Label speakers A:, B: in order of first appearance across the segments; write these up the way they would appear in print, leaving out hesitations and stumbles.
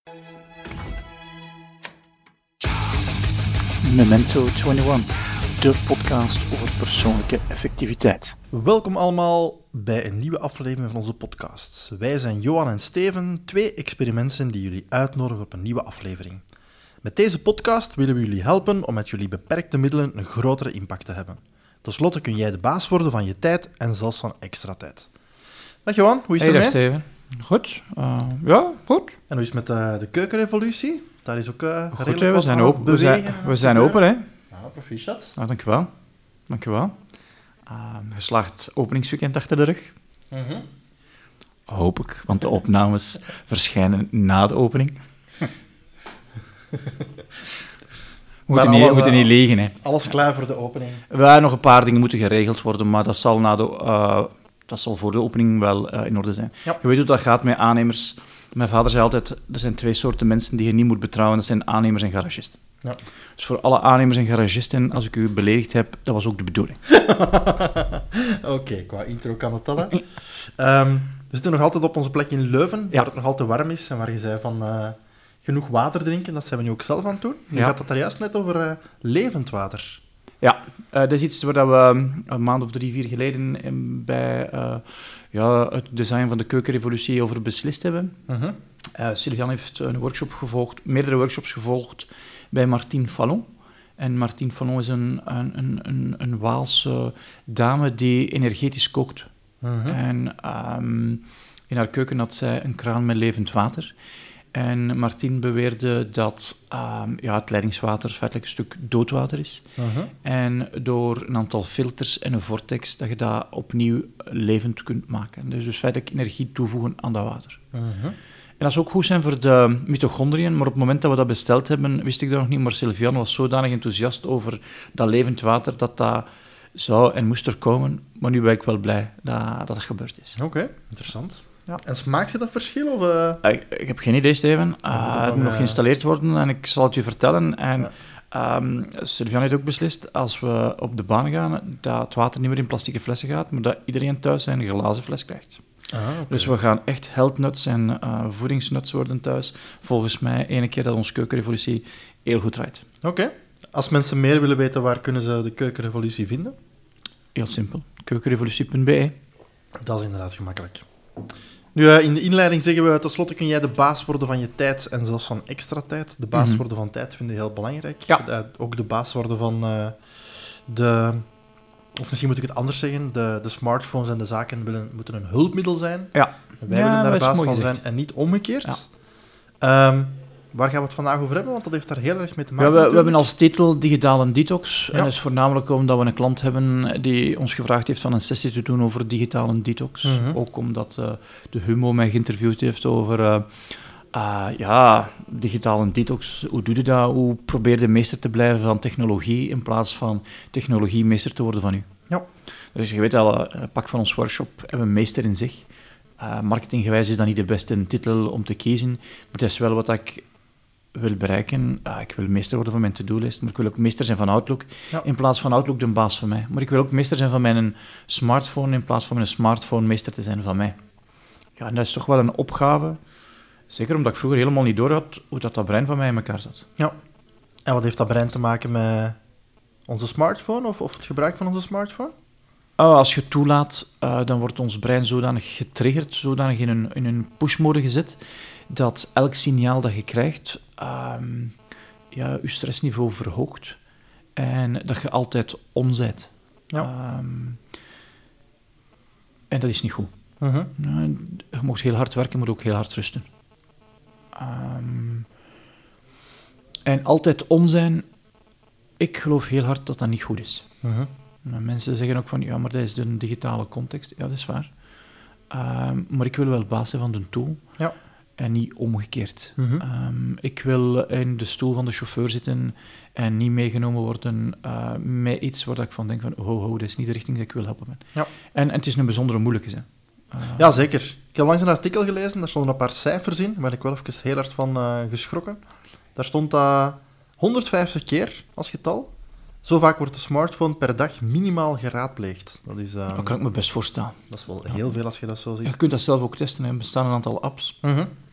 A: Memento 21, de podcast over persoonlijke effectiviteit.
B: Welkom allemaal bij een nieuwe aflevering van onze podcast. Wij zijn Johan en Steven, twee experimenten die jullie uitnodigen op een nieuwe aflevering. Met deze podcast willen we jullie helpen om met jullie beperkte middelen een grotere impact te hebben. Ten slotte kun jij de baas worden van je tijd en zelfs van extra tijd. Dag Johan, hoe is het ermee?
A: Hey, dag Steven. Goed. Ja, goed.
B: En hoe is het met de keukenrevolutie? Daar is ook
A: goed, hè? We zijn open, hè.
B: Nou, proficiat.
A: Nou, dankjewel. Geslaagd openingsweekend achter de rug.
B: Mm-hmm.
A: Hoop ik, want de opnames verschijnen na de opening. We moeten niet liegen, hè.
B: Alles klaar voor de opening.
A: Nog een paar dingen moeten geregeld worden, maar dat zal voor de opening wel in orde zijn.
B: Ja.
A: Je weet hoe dat gaat met aannemers. Mijn vader zei altijd, er zijn twee soorten mensen die je niet moet betrouwen. Dat zijn aannemers en garagisten.
B: Ja.
A: Dus voor alle aannemers en garagisten, als ik u beledigd heb, dat was ook de bedoeling.
B: Oké, qua intro kan het al, hè. We zitten nog altijd op onze plek in Leuven, waar het nog altijd warm is en waar je zei van genoeg water drinken. Dat zijn we nu ook zelf aan het doen. Je had het daar juist net over levend water.
A: Ja, dat is iets waar we een maand of 3-4 geleden bij het design van de keukenrevolutie over beslist hebben.
B: Uh-huh.
A: Sylvian heeft meerdere workshops gevolgd bij Martine Fallon. En Martine Fallon is een Waalse dame die energetisch kookt.
B: Uh-huh.
A: En in haar keuken had zij een kraan met levend water. En Martine beweerde dat het leidingswater feitelijk een stuk doodwater is.
B: Uh-huh. En
A: door een aantal filters en een vortex dat je dat opnieuw levend kunt maken. Dus feitelijk energie toevoegen aan dat water.
B: Uh-huh.
A: En dat zou ook goed zijn voor de mitochondriën, maar op het moment dat we dat besteld hebben, wist ik dat nog niet, maar Sylvian was zodanig enthousiast over dat levend water, dat zou en moest er komen. Maar nu ben ik wel blij dat gebeurd is.
B: Oké, interessant.
A: Ja.
B: En smaakt je dat verschil? Of,
A: Ik heb geen idee, Steven. Het moet nog geïnstalleerd worden en ik zal het je vertellen. En Sylvian heeft ook beslist, als we op de baan gaan, dat het water niet meer in plastieke flessen gaat, maar dat iedereen thuis zijn glazen fles krijgt.
B: Okay.
A: Dus we gaan echt health nuts en voedingsnuts worden thuis. Volgens mij, ene keer dat onze keukenrevolutie heel goed draait.
B: Oké. Als mensen meer willen weten, waar kunnen ze de keukenrevolutie vinden?
A: Heel simpel. Keukenrevolutie.be.
B: Dat is inderdaad gemakkelijk. Nu, in de inleiding zeggen we, tenslotte kun jij de baas worden van je tijd en zelfs van extra tijd. De baas worden van tijd vind ik heel belangrijk.
A: Ja.
B: Ook de baas worden van of misschien moet ik het anders zeggen, de smartphones en de zaken moeten een hulpmiddel zijn.
A: Ja.
B: Wij willen daar de baas van
A: gezegd.
B: zijn en niet omgekeerd. Ja. Waar gaan we het vandaag over hebben? Want dat heeft daar heel erg mee te maken.
A: We hebben als titel digitale detox.
B: Ja.
A: En dat is voornamelijk omdat we een klant hebben die ons gevraagd heeft van een sessie te doen over digitale detox.
B: Mm-hmm.
A: Ook omdat de Humo mij geïnterviewd heeft over digitale detox. Hoe doe je dat? Hoe probeer je meester te blijven van technologie in plaats van technologie meester te worden van u?
B: Ja.
A: Dus je weet al, een pak van ons workshop hebben we meester in zich. Marketinggewijs is dat niet de beste titel om te kiezen, maar het is wel wat ik wil bereiken. Ik wil meester worden van mijn to-do-list, maar ik wil ook meester zijn van Outlook, in plaats van Outlook de baas van mij. Maar ik wil ook meester zijn van mijn smartphone, in plaats van mijn smartphone meester te zijn van mij. Ja, en dat is toch wel een opgave, zeker omdat ik vroeger helemaal niet door had hoe dat brein van mij in elkaar zat.
B: Ja. En wat heeft dat brein te maken met onze smartphone of het gebruik van onze smartphone?
A: Als je toelaat, dan wordt ons brein zodanig getriggerd, zodanig in een pushmode gezet, dat elk signaal dat je krijgt, je stressniveau verhoogt en dat je altijd on bent.
B: Ja.
A: En dat is niet goed.
B: Uh-huh.
A: Je mag heel hard werken, maar ook heel hard rusten. En altijd on zijn, ik geloof heel hard dat dat niet goed is.
B: Uh-huh.
A: Mensen zeggen ook van, ja, maar dat is de digitale context. Ja, dat is waar. Maar ik wil wel baas zijn van de tool.
B: Ja.
A: En niet omgekeerd.
B: Uh-huh.
A: Ik wil in de stoel van de chauffeur zitten en niet meegenomen worden met iets waar ik van denk van, dat is niet de richting die ik wil helpen met.
B: Ja.
A: En het is een bijzondere moeilijke, hè.
B: Ja, zeker. Ik heb langs een artikel gelezen, daar stonden een paar cijfers in, waar ik wel even heel hard van geschrokken. Daar stond 150 keer als getal. Zo vaak wordt de smartphone per dag minimaal geraadpleegd.
A: Dat kan ik me best voorstellen.
B: Dat is wel heel veel als je dat zo ziet.
A: Je kunt dat zelf ook testen. Er bestaan een aantal apps.
B: Uh-huh.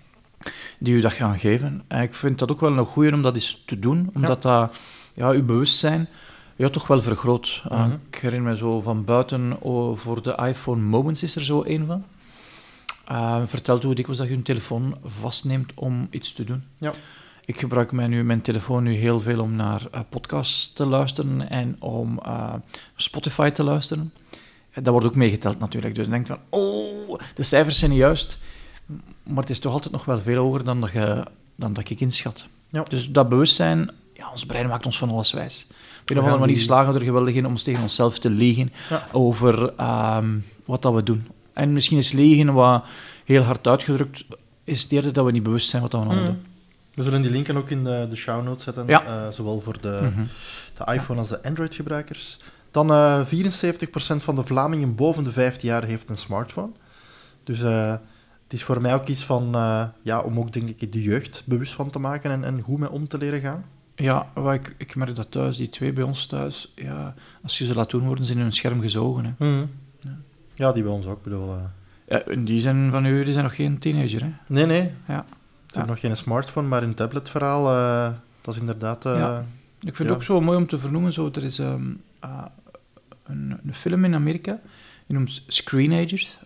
A: die u dat gaan geven. En ik vind dat ook wel een goeie om dat eens te doen, omdat dat uw bewustzijn toch wel vergroot. Ik herinner me zo van buiten, voor de iPhone Moments is er zo een van. Vertelt hoe dikwijls dat je een telefoon vastneemt om iets te doen.
B: Ja.
A: Ik gebruik mijn telefoon nu heel veel om naar podcasts te luisteren en om Spotify te luisteren. Dat wordt ook meegeteld natuurlijk. Dus je denkt van, de cijfers zijn niet juist. Maar het is toch altijd nog wel veel hoger dan dat ik inschat. Ja. Dus dat bewustzijn, ons brein maakt ons van alles wijs. Op een of andere manier slagen we er geweldig in om tegen onszelf te liegen over wat dat we doen. En misschien is liegen wat heel hard uitgedrukt, is het eerder dat we niet bewust zijn wat dat we allemaal doen.
B: We zullen die linken ook in de show notes zetten, zowel voor de iPhone als de Android-gebruikers. Dan 74% van de Vlamingen boven de 15 jaar heeft een smartphone. Dus het is voor mij ook iets van, om ook denk ik de jeugd bewust van te maken en goed mee om te leren gaan.
A: Ja, ik merk dat thuis, die twee bij ons thuis, als je ze laat doen, worden ze in hun scherm gezogen. Hè.
B: Ja, die bij ons ook, bedoel.
A: Die zijn van u, die zijn nog geen teenager, hè?
B: Nee.
A: Ja.
B: Ze hebben nog geen smartphone, maar hun tabletverhaal, dat is inderdaad...
A: Ik vind het ook zo mooi om te vernoemen, zo, er is een film in Amerika, die noemt Screenagers.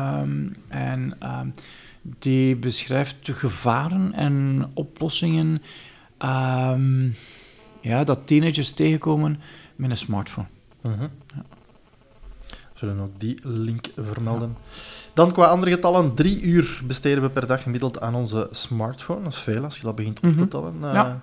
A: Die beschrijft de gevaren en oplossingen dat teenagers tegenkomen met een smartphone.
B: We zullen ook die link vermelden. Dan qua andere getallen, 3 uur besteden we per dag gemiddeld aan onze smartphone. Dat is veel als je dat begint op te tellen.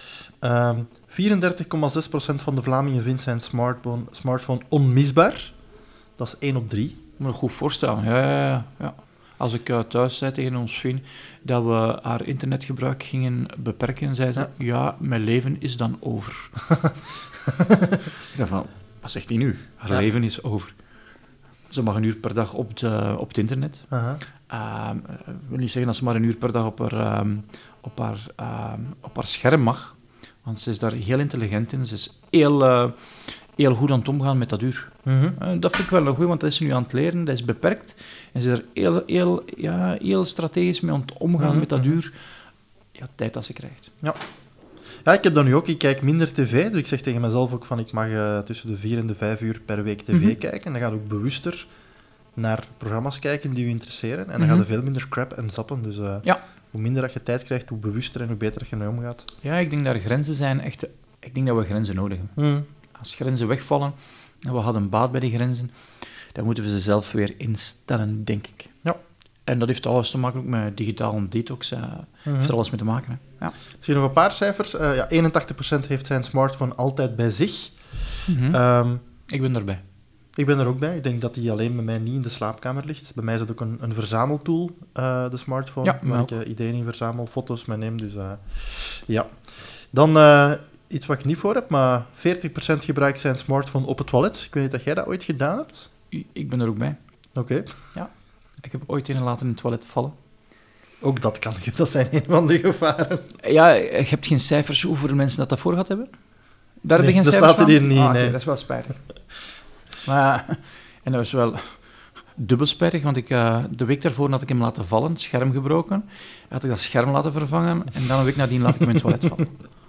B: 34,6% van de Vlamingen vindt zijn smartphone onmisbaar. Dat is 1 op 3.
A: Ik moet me dat goed voorstellen. Ja. Als ik thuis zei tegen ons vriend dat we haar internetgebruik gingen beperken, zei ze, mijn leven is dan over. Ik dacht van, wat zegt hij nu? Haar leven is over. Ze mag 1 uur per dag op het internet. Ik wil niet zeggen dat ze maar 1 uur per dag op haar scherm mag, want ze is daar heel intelligent in. Ze is heel goed aan het omgaan met dat uur. Dat vind ik wel een goeie, want dat is ze nu aan het leren, dat is beperkt. En ze is er heel strategisch mee aan het omgaan met dat uur. Tijd dat ze krijgt.
B: Ja, ik heb dat nu ook. Ik kijk minder tv, dus ik zeg tegen mezelf ook van ik mag tussen de 4 en de 5 uur per week tv kijken. En dan ga je ook bewuster naar programma's kijken die je interesseren. En dan ga je veel minder crap en zappen. Dus hoe minder dat je tijd krijgt, hoe bewuster en hoe beter dat je mee omgaat.
A: Ja, ik denk dat er grenzen zijn. Echt, ik denk dat we grenzen nodig hebben. Als grenzen wegvallen en we hadden baat bij die grenzen, dan moeten we ze zelf weer instellen, denk ik.
B: Ja.
A: En dat heeft alles te maken ook met digitale detox. Heeft er alles mee te maken. Hè. Ja.
B: Zie je nog een paar cijfers? 81% heeft zijn smartphone altijd bij zich.
A: Ik ben erbij.
B: Ik ben er ook bij. Ik denk dat die alleen bij mij niet in de slaapkamer ligt. Bij mij is dat ook een verzameltool, de smartphone, waar ik ideeën in verzamel, foto's mee neem. Dus, Dan iets wat ik niet voor heb, maar 40% gebruikt zijn smartphone op het toilet. Ik weet niet dat jij dat ooit gedaan hebt.
A: Ik ben er ook bij.
B: Oké.
A: Ja. Ik heb ooit een laten in het toilet vallen.
B: Ook dat kan. Dat zijn een van de gevaren.
A: Ja, je hebt geen cijfers hoeveel mensen dat voor gehad hebben? Daar heb je geen
B: dat
A: cijfers
B: staat er hier
A: van?
B: niet.
A: Nee. Dat is wel spijtig. Maar, en dat was wel dubbel spijtig, want de week daarvoor had ik hem laten vallen, scherm gebroken. Had ik dat scherm laten vervangen en dan een week nadien laat ik hem in het toilet vallen.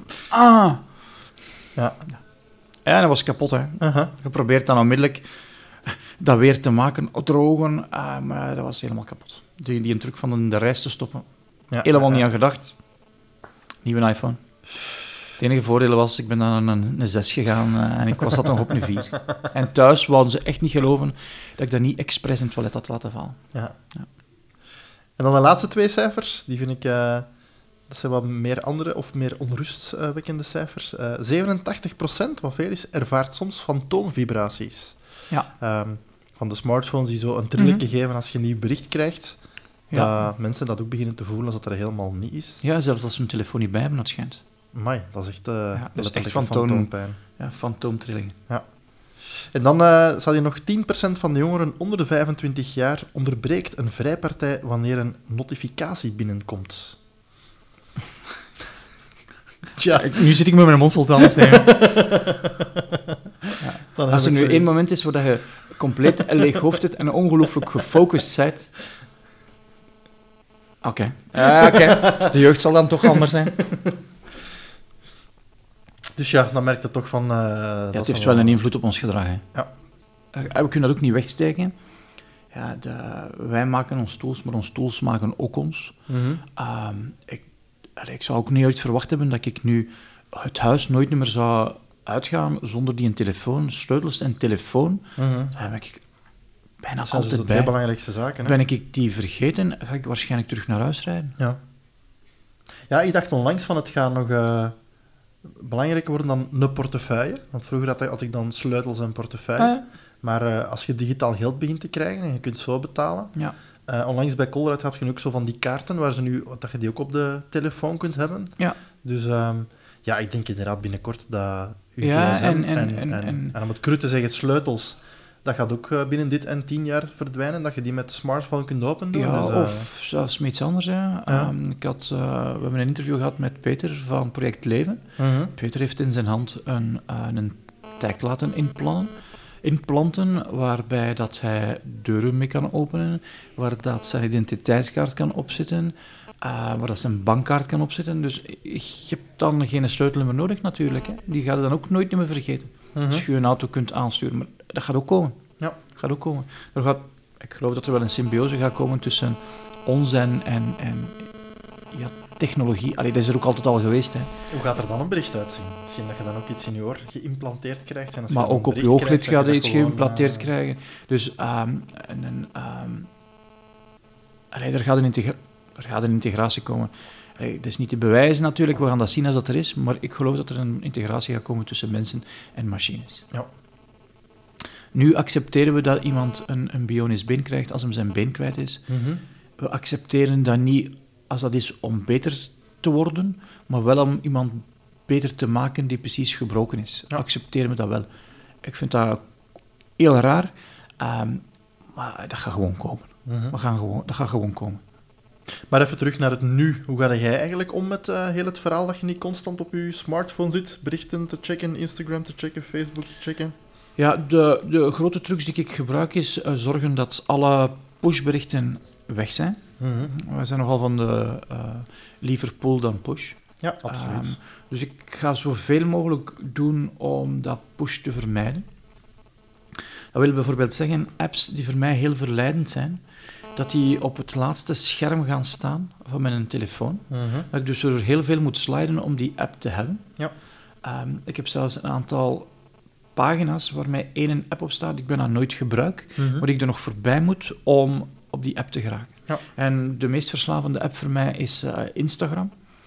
A: Ja, dat was kapot, hè. Geprobeerd dan onmiddellijk dat weer te maken, drogen, maar dat was helemaal kapot. Die truc van de reis te stoppen, helemaal niet aan gedacht. Nieuwe iPhone. Het enige voordeel was, ik ben dan naar een 6 gegaan en ik was dat nog op een 4. En thuis wouden ze echt niet geloven dat ik dat niet expres in het toilet had laten vallen.
B: Ja. En dan de laatste 2 cijfers, die vind ik... dat zijn wat meer andere of meer onrustwekkende cijfers. 87%, wat veel is, ervaart soms fantoomvibraties.
A: Ja.
B: Van de smartphones die zo een trilletje geven als je een nieuw bericht krijgt. Dat mensen dat ook beginnen te voelen als dat er helemaal niet is.
A: Ja, zelfs als ze hun telefoon niet bij hebben, dat schijnt.
B: Amai, dat is echt,
A: dat is echt
B: fantoompijn.
A: Ja, fantoomtrillingen.
B: Ja. En dan zal je nog 10% van de jongeren onder de 25 jaar onderbreekt een vrijpartij wanneer een notificatie binnenkomt. Tja.
A: Nu zit ik met mijn mond vol tanden nemen. Als er nu één moment is waar je compleet leeg hoofd hebt en ongelooflijk gefocust bent, Oké. De jeugd zal dan toch anders zijn.
B: Dus ja, dan merkt het toch van...
A: Het heeft wel een invloed op ons gedrag. Hè.
B: Ja.
A: We kunnen dat ook niet wegsteken. Ja, wij maken ons tools, maar ons tools maken ook ons. Ik zou ook niet ooit verwacht hebben dat ik nu het huis nooit meer zou uitgaan zonder die een telefoon, sleutels en telefoon. Daar ben ik bijna
B: dat zijn
A: altijd
B: de
A: bij.
B: twee belangrijkste zaken. Hè?
A: Ben ik die vergeten, ga ik waarschijnlijk terug naar huis rijden.
B: Ja, ik dacht onlangs van het gaat nog belangrijker worden dan een portefeuille. Want vroeger had ik dan sleutels en portefeuille. Maar als je digitaal geld begint te krijgen en je kunt zo betalen...
A: Ja.
B: Onlangs bij Colruyt heb je ook zo van die kaarten waar dat je die ook op de telefoon kunt hebben.
A: Ja.
B: Dus ik denk inderdaad binnenkort dat je
A: Ja,
B: gsm
A: en
B: om het cru te zeggen, sleutels, dat gaat ook binnen dit en 10 jaar verdwijnen, dat je die met de smartphone kunt opendoen.
A: Ja,
B: dus,
A: of zelfs met iets anders. Hè. We hebben een interview gehad met Peter van Project Leven. Peter heeft in zijn hand een tag laten inplanten, waarbij dat hij deuren mee kan openen, waar dat zijn identiteitskaart kan opzetten, waar dat zijn bankkaart kan opzetten. Dus je hebt dan geen sleutel meer nodig natuurlijk. Hè. Die ga je dan ook nooit meer vergeten. Als je een auto kunt aansturen. Maar dat gaat ook komen.
B: Ja.
A: Gaat ook komen. Ik geloof dat er wel een symbiose gaat komen tussen ons en technologie. Dat is er ook altijd al geweest. Hè.
B: Hoe gaat er dan een bericht uitzien? Misschien dat je dan ook iets in je oor geïmplanteerd krijgt. En als
A: Maar
B: je
A: ook op je ooglid gaat je iets geïmplanteerd krijgen. Dus er gaat een integratie komen. Het is niet te bewijzen natuurlijk, we gaan dat zien als dat er is, maar ik geloof dat er een integratie gaat komen tussen mensen en machines.
B: Ja.
A: Nu accepteren we dat iemand een bionisch been krijgt als hem zijn been kwijt is. We accepteren dat niet als dat is om beter te worden, maar wel om iemand beter te maken die precies gebroken is.
B: Ja.
A: Accepteren we dat wel. Ik vind dat heel raar, maar dat gaat gewoon komen. Dat gaat gewoon komen.
B: Maar even terug naar het nu. Hoe ga jij eigenlijk om met heel het verhaal dat je niet constant op je smartphone zit, berichten te checken, Instagram te checken, Facebook te checken?
A: Ja, de grote trucs die ik gebruik is zorgen dat alle pushberichten weg zijn. Wij zijn nogal van de liever pull dan push.
B: Ja, absoluut.
A: Dus ik ga zoveel mogelijk doen om dat push te vermijden. Dat wil bijvoorbeeld zeggen, apps die voor mij heel verleidend zijn, dat die op het laatste scherm gaan staan van mijn telefoon. Dat ik dus er heel veel moet sliden om die app te hebben.
B: Ja.
A: Ik heb zelfs een aantal pagina's waar mij één app op staat die ik bijna nooit gebruik, maar die ik er nog voorbij moet om op die app te geraken.
B: Ja.
A: En de meest verslavende app voor mij is Instagram.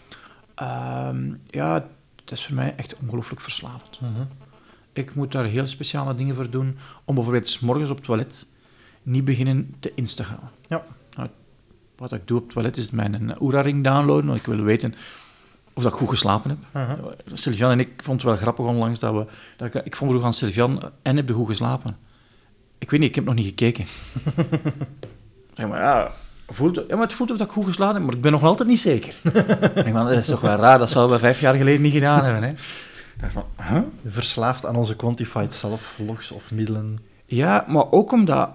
A: Het is voor mij echt ongelooflijk verslavend. Ik moet daar heel speciale dingen voor doen om bijvoorbeeld 's morgens op het toilet niet beginnen te Instagrammen.
B: Ja.
A: Wat ik doe op het toilet is mijn Oura-ring downloaden, want ik wil weten of dat ik goed geslapen heb. Sylvian en ik vonden het wel grappig onlangs ik vroeg aan Sylvian, en heb je goed geslapen? Ik weet niet, ik heb nog niet gekeken. Zeg maar, het voelt of dat ik goed geslapen heb, maar ik ben nog altijd niet zeker. Dat is toch wel raar, dat zouden we 5 jaar geleden niet gedaan hebben. Hè?
B: Verslaafd aan onze quantified self-logs of middelen.
A: Ja, maar ook omdat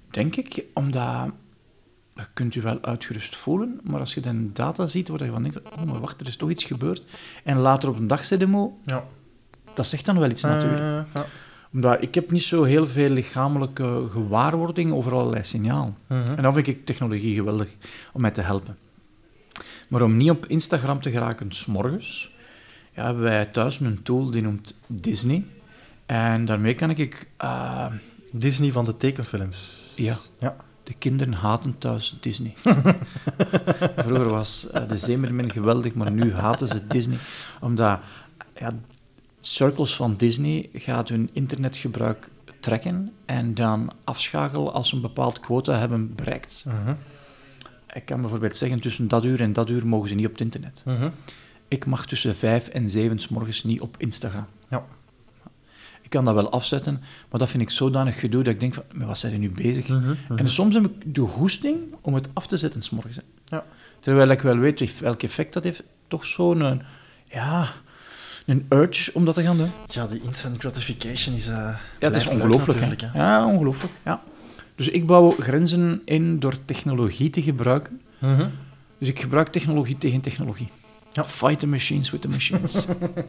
A: je kunt je wel uitgerust voelen, maar als je dan data ziet, waar je van denkt, oh, maar wacht, er is toch iets gebeurd. En later op een dag zit dat zegt dan wel iets natuurlijk. Omdat ik heb niet zo heel veel lichamelijke gewaarwording over allerlei signalen. En dan vind ik technologie geweldig om mij te helpen. Maar om niet op Instagram te geraken 's morgens, hebben wij thuis een tool die noemt Disney. En daarmee kan ik...
B: Disney van de tekenfilms.
A: Ja. De kinderen haten thuis Disney. Vroeger was de Zeemermin geweldig, maar nu haten ze Disney. Omdat circles van Disney gaat hun internetgebruik trekken en dan afschakelen als ze een bepaald quota hebben bereikt. Ik kan bijvoorbeeld zeggen, tussen dat uur en dat uur mogen ze niet op het internet. Ik mag tussen 5 en 7 's morgens niet op Instagram.
B: Ja.
A: Ik kan dat wel afzetten, maar dat vind ik zodanig gedoe dat ik denk van, maar wat zijn ze nu bezig? En soms heb ik de goesting om het af te zetten 's morgens.
B: Ja.
A: Terwijl ik wel weet welk effect dat heeft. Toch zo'n een urge om dat te gaan doen.
B: Ja, die instant gratification is...
A: het is ongelooflijk. Hè? Ja, ongelooflijk. Ja. Dus ik bouw grenzen in door technologie te gebruiken. Dus ik gebruik technologie tegen technologie.
B: Ja.
A: Fight the machines with the machines.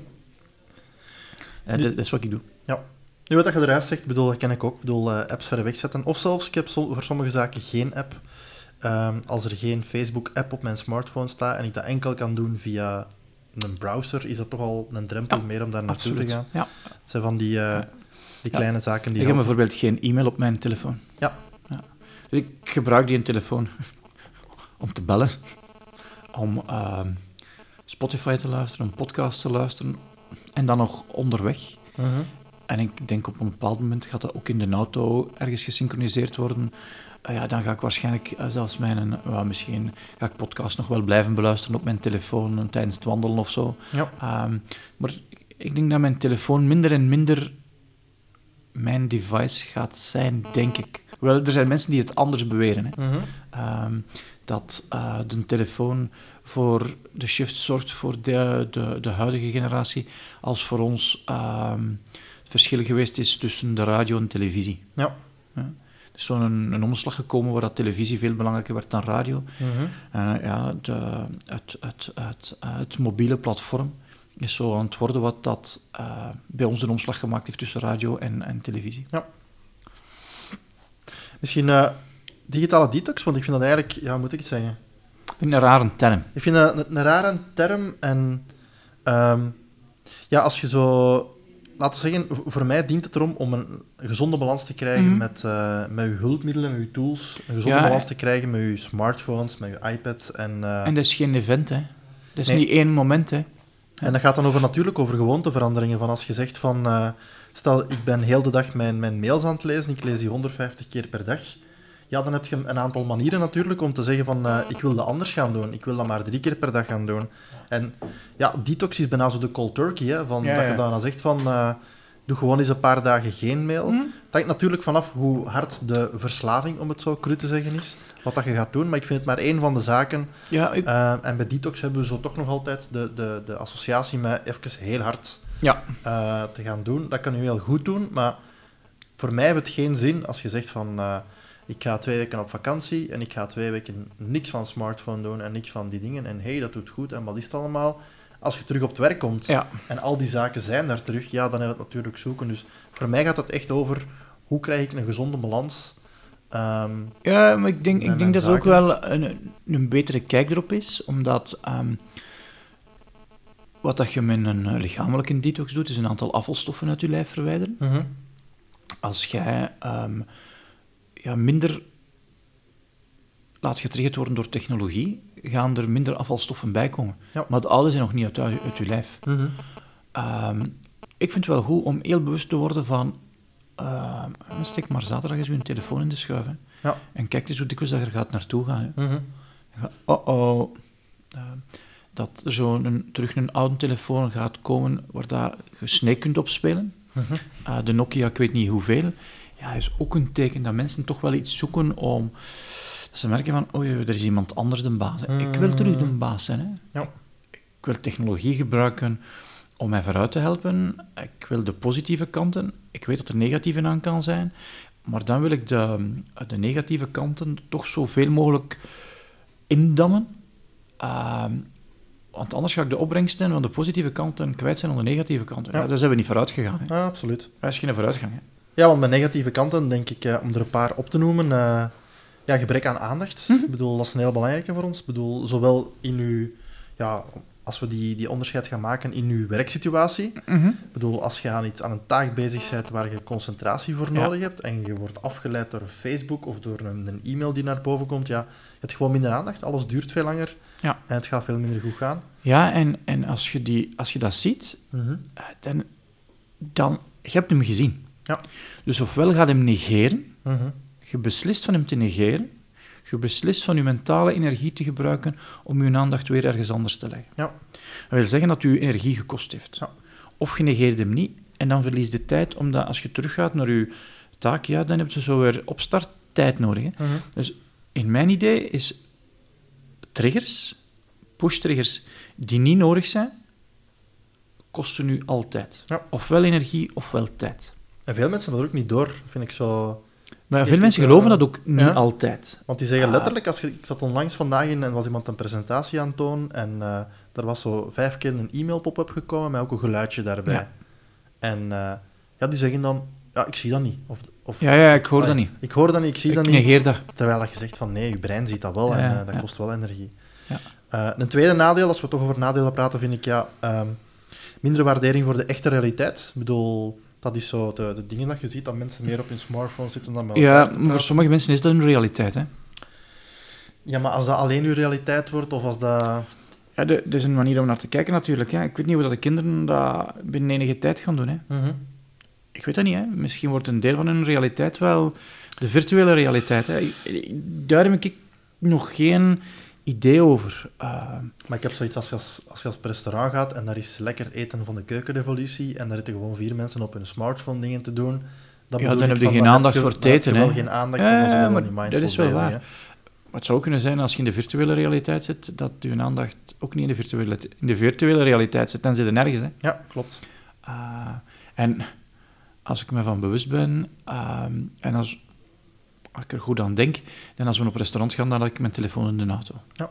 A: Dat is wat ik doe.
B: Ja. Nu, wat je eruit zegt, dat ken ik ook. Ik bedoel, apps verder wegzetten. Of zelfs, ik heb voor sommige zaken geen app. Als er geen Facebook-app op mijn smartphone staat en ik dat enkel kan doen via een browser, is dat toch al een drempel meer om daar naartoe te gaan.
A: Ja.
B: Het zijn van die kleine zaken die
A: ik heb bijvoorbeeld geen e-mail op mijn telefoon.
B: Ja.
A: Dus ik gebruik die telefoon om te bellen, om Spotify te luisteren, om podcasts te luisteren en dan nog onderweg. En ik denk op een bepaald moment gaat dat ook in de auto ergens gesynchroniseerd worden. Dan ga ik waarschijnlijk zelfs misschien ga ik podcast nog wel blijven beluisteren op mijn telefoon tijdens het wandelen of zo.
B: Ja.
A: Maar ik denk dat mijn telefoon minder en minder mijn device gaat zijn, denk ik. Wel, er zijn mensen die het anders beweren. Hè. Dat de telefoon voor de shift zorgt voor de huidige generatie, als voor ons het verschil geweest is tussen de radio en televisie.
B: Ja.
A: Er is zo'n omslag gekomen waar dat televisie veel belangrijker werd dan radio. Het mobiele platform is zo aan het worden wat dat bij ons een omslag gemaakt heeft tussen radio en televisie.
B: Ja. Misschien digitale detox, want ik vind dat eigenlijk, hoe moet ik het zeggen?
A: Ik vind het een rare term.
B: Ik vind dat een rare term en als je zo... Laten we zeggen, voor mij dient het erom om een gezonde balans te krijgen met je hulpmiddelen, met je tools. Een gezonde balans te krijgen met je smartphones, met je iPads. En
A: dat is geen event, hè. Dat is niet één moment, hè.
B: En dat gaat dan natuurlijk over gewoonteveranderingen. Van als je zegt van... stel, ik ben heel de dag mijn mails aan het lezen, ik lees die 150 keer per dag. Ja, dan heb je een aantal manieren natuurlijk om te zeggen van... ik wil dat anders gaan doen. Ik wil dat maar 3 keer per dag gaan doen. En detox is bijna zo de cold turkey, hè. Dat je dan zegt van... doe gewoon eens een paar dagen geen mail. Het hangt natuurlijk vanaf hoe hard de verslaving, om het zo cru te zeggen, is. Wat dat je gaat doen. Maar ik vind het maar één van de zaken. Ja, en bij detox hebben we zo toch nog altijd de associatie met even heel hard te gaan doen. Dat kan je heel goed doen, maar voor mij heeft het geen zin als je zegt van... ik ga 2 weken op vakantie en ik ga 2 weken niks van smartphone doen en niks van die dingen. En dat doet goed en wat is het allemaal? Als je terug op het werk komt en al die zaken zijn daar terug, dan hebben we het natuurlijk zoeken. Dus voor mij gaat het echt over, hoe krijg ik een gezonde balans?
A: Maar ik denk dat er ook wel een betere kijk erop is, omdat wat dat je met een lichamelijke detox doet, is een aantal afvalstoffen uit je lijf verwijderen. Als jij minder laat getriggerd worden door technologie, gaan er minder afvalstoffen bij komen. Ja. Maar de oude zijn nog niet uit je lijf. Ik vind het wel goed om heel bewust te worden van... steek maar zaterdag eens je telefoon in de schuif. Hè. Ja. En kijk eens hoe dikwijls dat er gaat naartoe gaan. Hè. Dat er terug een oude telefoon gaat komen waar dat je Snake kunt opspelen. De Nokia, ik weet niet hoeveel. Ja, is ook een teken dat mensen toch wel iets zoeken om... Dat ze merken van, er is iemand anders de baas. Ik wil terug de baas zijn. Hè. Ja. Ik wil technologie gebruiken om mij vooruit te helpen. Ik wil de positieve kanten. Ik weet dat er negatieve aan kan zijn. Maar dan wil ik de negatieve kanten toch zoveel mogelijk indammen. Want anders ga ik de opbrengsten van de positieve kanten kwijt zijn aan de negatieve kanten. Daar zijn we niet vooruit gegaan. Hè.
B: Ja, absoluut.
A: Dat is geen vooruitgang. Hè.
B: Ja, want met negatieve kanten, denk ik, om er een paar op te noemen... gebrek aan aandacht. Ik bedoel, dat is een heel belangrijke voor ons. Ik bedoel, zowel in uw... als we die onderscheid gaan maken in uw werksituatie. Ik bedoel, als je aan een taak bezig bent waar je concentratie voor nodig hebt en je wordt afgeleid door Facebook of door een e-mail die naar boven komt, je hebt gewoon minder aandacht. Alles duurt veel langer en het gaat veel minder goed gaan.
A: Ja, en als je dat ziet, dan... Je hebt hem gezien. Ja. Dus ofwel gaat hem negeren... Je beslist van hem te negeren. Je beslist van je mentale energie te gebruiken om je aandacht weer ergens anders te leggen. Ja. Dat wil zeggen dat je energie gekost heeft. Ja. Of je negeert hem niet en dan verlies je tijd, omdat als je teruggaat naar je taak, dan heb je zo weer opstart tijd nodig. Hè. Dus in mijn idee is triggers, push-triggers die niet nodig zijn, kosten nu altijd. Ja. Ofwel energie, ofwel tijd.
B: En veel mensen hebben dat ook niet door, vind ik zo...
A: Maar veel mensen geloven dat ook niet altijd.
B: Want die zeggen letterlijk, ik zat onlangs vandaag in en was iemand een presentatie aan het tonen en er was zo 5 keer een e-mail-pop-up gekomen met ook een geluidje daarbij.
A: Ja.
B: En die zeggen dan, ik zie dat niet.
A: Ik hoor dat niet.
B: Ik hoor dat niet, ik zie dat niet.
A: Ik negeer dat.
B: Terwijl je zegt van nee, je brein ziet dat wel en dat kost wel energie.
A: Ja.
B: Een tweede nadeel, als we toch over nadelen praten, vind ik minder waardering voor de echte realiteit. Ik bedoel, dat is zo de dingen dat je ziet, dat mensen meer op hun smartphone zitten dan met elkaar te praten.
A: Maar voor sommige mensen is dat hun realiteit, hè.
B: Ja, maar als dat alleen uw realiteit wordt, of als dat...
A: Ja, er is een manier om naar te kijken natuurlijk. Hè. Ik weet niet hoe dat de kinderen dat binnen enige tijd gaan doen. Hè.
B: Mm-hmm.
A: Ik weet dat niet. Hè. Misschien wordt een deel van hun realiteit wel de virtuele realiteit. Hè. Daar heb ik nog geen idee over.
B: Maar ik heb zoiets als je op restaurant gaat en daar is lekker eten van de keukenrevolutie en daar zitten gewoon 4 mensen op hun smartphone dingen te doen.
A: Dan heb je geen aandacht voor het eten.
B: Dan heb je wel geen aandacht, dan zijn we wel niet mindful
A: dat is wel
B: bezig,
A: waar.
B: Hè.
A: Maar het zou kunnen zijn, als je in de virtuele realiteit zit, dat je aandacht ook niet in de virtuele realiteit zit. Dan zit je nergens. Hè.
B: Ja, klopt.
A: En als ik me van bewust ben, en als ik er goed aan denk, dan als we op restaurant gaan, dan had ik mijn telefoon in de auto.
B: Ja.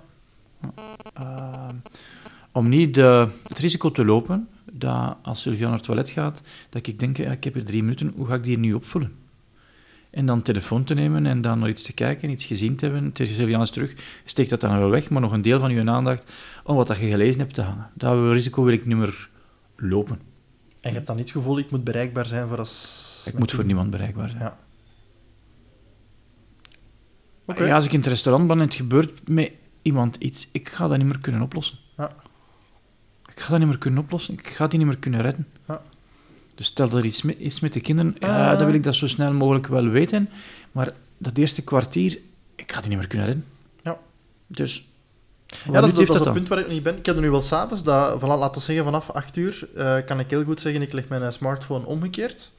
A: Om niet het risico te lopen dat als Sylvia naar het toilet gaat, dat ik denk, ik heb hier 3 minuten, hoe ga ik die nu opvullen? En dan telefoon te nemen en dan naar iets te kijken, iets gezien te hebben. Tegen Sylvia is terug, steekt dat dan wel weg, maar nog een deel van je aandacht om wat dat je gelezen hebt te hangen. Dat risico wil ik niet meer lopen.
B: En je hebt dan niet het gevoel, ik moet bereikbaar zijn voor als...
A: Ik moet voor niemand bereikbaar zijn.
B: Ja. Okay.
A: Ja, als ik in het restaurant ben en het gebeurt met iemand iets, ik ga dat niet meer kunnen oplossen.
B: Ja.
A: Ik ga dat niet meer kunnen oplossen. Ik ga die niet meer kunnen redden.
B: Ja.
A: Dus stel dat er iets is met de kinderen, dan wil ik dat zo snel mogelijk wel weten. Maar dat eerste kwartier, ik ga die niet meer kunnen redden.
B: Ja.
A: Dus...
B: Ja, dat is het punt waar ik niet ben. Ik heb er nu wel s'avonds, laten we zeggen vanaf 8 uur, kan ik heel goed zeggen, ik leg mijn smartphone omgekeerd.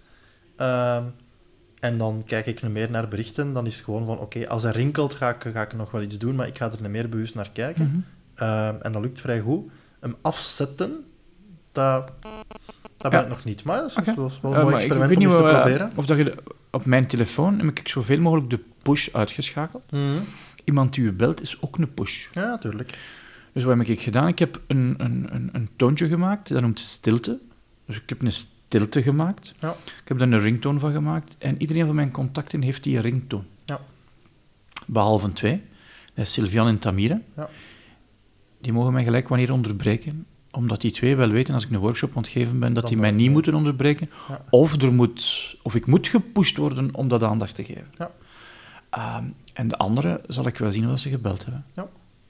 B: En dan kijk ik niet meer naar berichten. Dan is het gewoon van, oké, als er rinkelt, ga ik nog wel iets doen, maar ik ga er niet meer bewust naar kijken.
A: Mm-hmm.
B: En dat lukt vrij goed. Hem afzetten, dat ben ik nog niet. Maar dat is wel een mooi experiment om eens te proberen.
A: Of dat je op mijn telefoon heb ik zoveel mogelijk de push uitgeschakeld.
B: Mm-hmm.
A: Iemand die u belt is ook een push.
B: Ja, natuurlijk.
A: Dus wat heb ik gedaan? Ik heb een toontje gemaakt, dat noemt stilte. Dus ik heb een stilte gemaakt.
B: Ja.
A: Ik heb daar een ringtoon van gemaakt. En iedereen van mijn contacten heeft die ringtoon.
B: Ja.
A: Behalve 2. Dat is Sylvian en Tamira.
B: Ja.
A: Die mogen mij gelijk wanneer onderbreken. Omdat die 2 wel weten, als ik een workshop aan het geven ben, dat die mij niet moeten onderbreken.
B: Ja.
A: Of ik moet gepusht worden om dat aandacht te geven.
B: Ja.
A: En de andere zal ik wel zien of ze gebeld hebben.
B: Ja.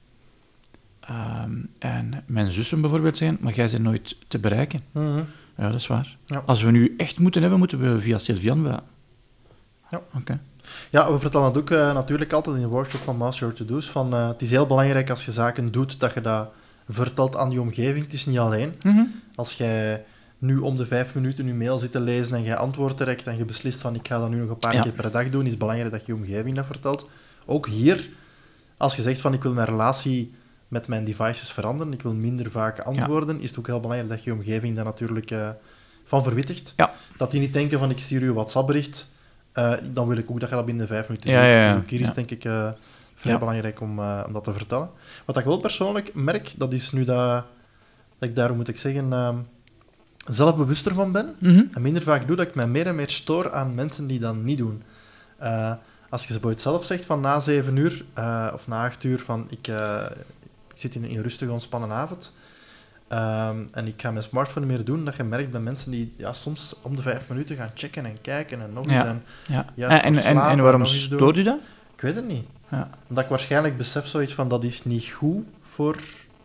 A: En mijn zussen bijvoorbeeld zeggen, maar jij bent nooit te bereiken.
B: Mm-hmm.
A: Ja, dat is waar.
B: Ja.
A: Als we nu echt moeten hebben, moeten we via Sylvian bellen.
B: Ja.
A: Oké.
B: Ja, we vertellen dat ook natuurlijk altijd in de workshop van Master Your To-Do's. Het is heel belangrijk als je zaken doet, dat je dat vertelt aan je omgeving. Het is niet alleen.
A: Mm-hmm.
B: Als jij nu om de 5 minuten je mail zit te lezen en jij antwoordt direct en je beslist van ik ga dat nu nog een paar keer per dag doen, is het belangrijk dat je omgeving dat vertelt. Ook hier, als je zegt van ik wil mijn relatie met mijn devices veranderen, ik wil minder vaak antwoorden, is het ook heel belangrijk dat je omgeving daar natuurlijk van verwittigt.
A: Ja.
B: Dat die niet denken van ik stuur je een WhatsApp-bericht, dan wil ik ook dat je dat binnen de 5 minuten ziet.
A: Ja.
B: Dus ook hier is het denk ik vrij belangrijk om dat te vertellen. Wat ik wel persoonlijk merk, dat is nu dat ik daar, moet ik zeggen, zelf bewuster van ben en minder vaak doe, dat ik mij meer en meer stoor aan mensen die dat niet doen. Als je bijvoorbeeld zelf zegt van na 7 uur of na 8 uur van ik zit in een rustige, ontspannen avond en ik ga mijn smartphone niet meer doen, dat je merkt bij mensen die soms om de 5 minuten gaan checken en kijken en nog eens
A: en waarom stoort u dat?
B: Ik weet het niet.
A: Ja.
B: Omdat ik waarschijnlijk besef zoiets van dat is niet goed voor...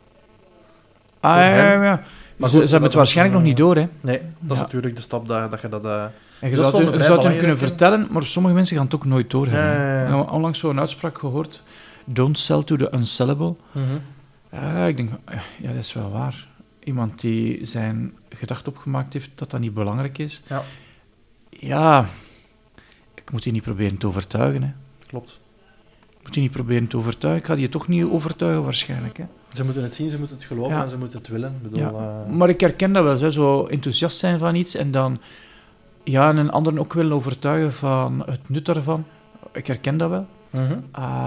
A: Ja. Maar ze hebben het waarschijnlijk nog niet door, hè?
B: Nee, dat is natuurlijk de stap dat je dat...
A: En je zou het hem kunnen vertellen, maar sommige mensen gaan het ook nooit doorhebben. Ja. Ik heb onlangs zo'n uitspraak gehoord. Don't sell to the unsellable.
B: Mm-hmm.
A: Ik denk, dat is wel waar. Iemand die zijn gedacht opgemaakt heeft dat dat niet belangrijk is. Ja, ik moet die niet proberen te overtuigen. Hè.
B: Klopt.
A: Ik moet die niet proberen te overtuigen. Ik ga die toch niet overtuigen waarschijnlijk. Hè.
B: Ze moeten het zien, ze moeten het geloven en ze moeten het willen. Ik bedoel,
A: Maar ik herken dat wel, zo enthousiast zijn van iets en dan een anderen ook willen overtuigen van het nut daarvan. ik herken dat wel.
B: Mhm.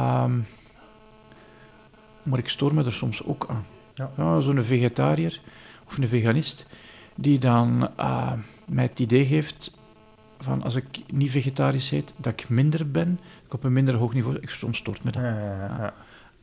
A: Maar ik stoor me er soms ook aan.
B: Ja.
A: Ja, zo'n vegetariër of een veganist die dan mij het idee geeft van als ik niet vegetarisch eet, dat ik minder ben, ik op een minder hoog niveau. Soms stoort me dat.
B: Ja.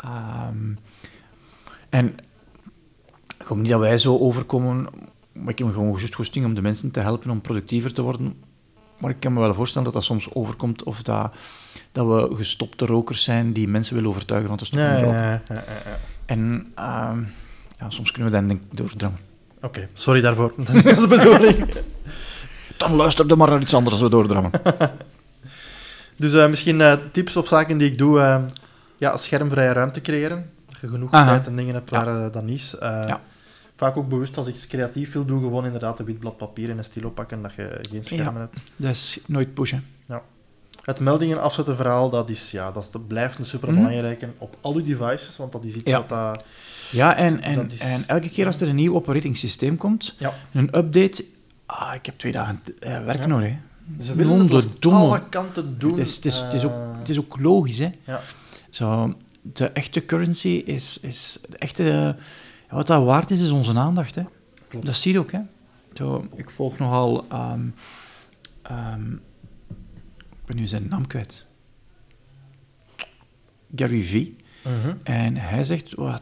A: En ik hoop niet dat wij zo overkomen, maar ik heb gewoon juist goesting om de mensen te helpen om productiever te worden. Maar ik kan me wel voorstellen dat dat soms overkomt of dat we gestopte rokers zijn die mensen willen overtuigen van te stoppen met roken.
B: Ja.
A: En soms kunnen we dat denk ik doordrammen.
B: Oké, sorry daarvoor. Dat is de bedoeling.
A: Dan luister dan maar naar iets anders als we doordrammen.
B: Dus misschien tips of zaken die ik doe. Schermvrije ruimte creëren. Dat je genoeg tijd en dingen hebt waar dat niet is. Vaak ook bewust als ik iets creatief wil doen, gewoon inderdaad een wit blad papier en een stilo pakken, dat je geen schermen hebt.
A: Dat is nooit pushen.
B: Ja. Het meldingen afzetten verhaal, dat blijft een superbelangrijke op al je devices, want dat is iets wat dat...
A: Ja, en elke keer als er een nieuw operating systeem komt, een update... ik heb 2 dagen werk nog, hè.
B: Ze willen het aan alle kanten doen.
A: Het is ook logisch, hè.
B: Ja.
A: Zo, de echte currency is de echte... wat dat waard is onze aandacht, hè.
B: Klopt.
A: Dat zie je ook, hè. Zo, ik volg nogal... ik ben nu zijn naam kwijt. Gary Vee. En hij zegt wat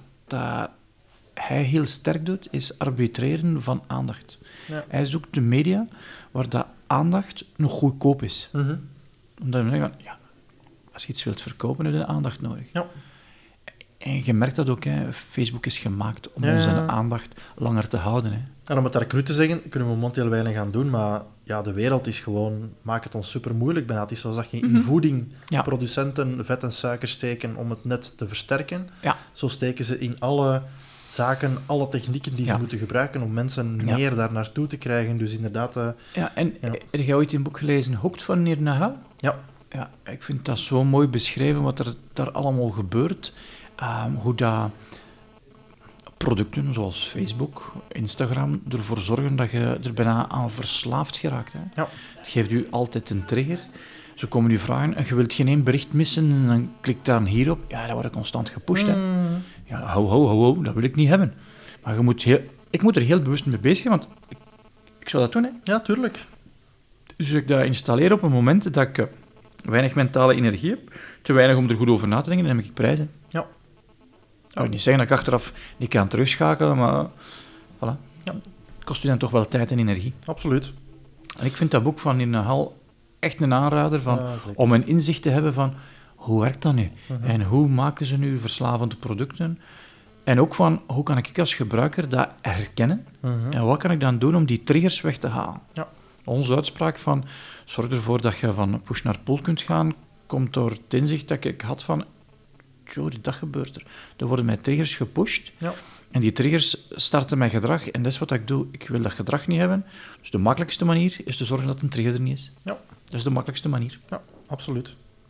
A: hij heel sterk doet, is arbitreren van aandacht.
B: Ja.
A: Hij zoekt de media waar dat aandacht nog goedkoop is. Omdat we zeggen, als je iets wilt verkopen, heb je aandacht nodig.
B: Ja.
A: En je merkt dat ook, hè. Facebook is gemaakt om onze aandacht langer te houden. Hè.
B: En om het daar cru te zeggen, kunnen we momenteel weinig gaan doen, maar de wereld is gewoon, maakt het ons super moeilijk bijna. Het is zoals dat je in voeding producenten vet en suiker steken om het net te versterken. Ja. Zo steken ze in alle zaken, alle technieken die ze moeten gebruiken om mensen meer daar naartoe te krijgen. Dus inderdaad...
A: Heb je ooit een boek gelezen, Hooked van Nir Nahal?
B: Ja.
A: Ja, ik vind dat zo mooi beschreven wat er daar allemaal gebeurt. Hoe dat producten zoals Facebook, Instagram ervoor zorgen dat je er bijna aan verslaafd geraakt. Hè. Ja. Het geeft u altijd een trigger. Ze komen u vragen en je wilt geen één bericht missen en dan klik daar hier op. Ja, dat wordt constant gepusht. Hè. Ja, ho, dat wil ik niet hebben. Maar ik moet er heel bewust mee bezig zijn, want ik zou dat doen. Hè.
B: Ja, tuurlijk.
A: Dus ik dat installeer op een moment dat ik weinig mentale energie heb, te weinig om er goed over na te denken, dan heb ik prijzen. Ja. Ik wil niet zeggen dat ik achteraf niet kan terugschakelen, maar voilà. Ja. Het kost u dan toch wel tijd en energie.
B: Absoluut.
A: En ik vind dat boek van Nir Nahal echt een aanrader om een inzicht te hebben van hoe werkt dat nu? En hoe maken ze nu verslavende producten? En ook van hoe kan ik als gebruiker dat herkennen? En wat kan ik dan doen om die triggers weg te halen? Ja. Onze uitspraak van zorg ervoor dat je van push naar pull kunt gaan, komt door het inzicht dat ik had van dat gebeurt er. Er worden mijn triggers gepusht en die triggers starten mijn gedrag en dat is wat ik doe. Ik wil dat gedrag niet hebben. Dus de makkelijkste manier is te zorgen dat een trigger er niet is. Ja. Dat is de makkelijkste manier.
B: Ja, absoluut.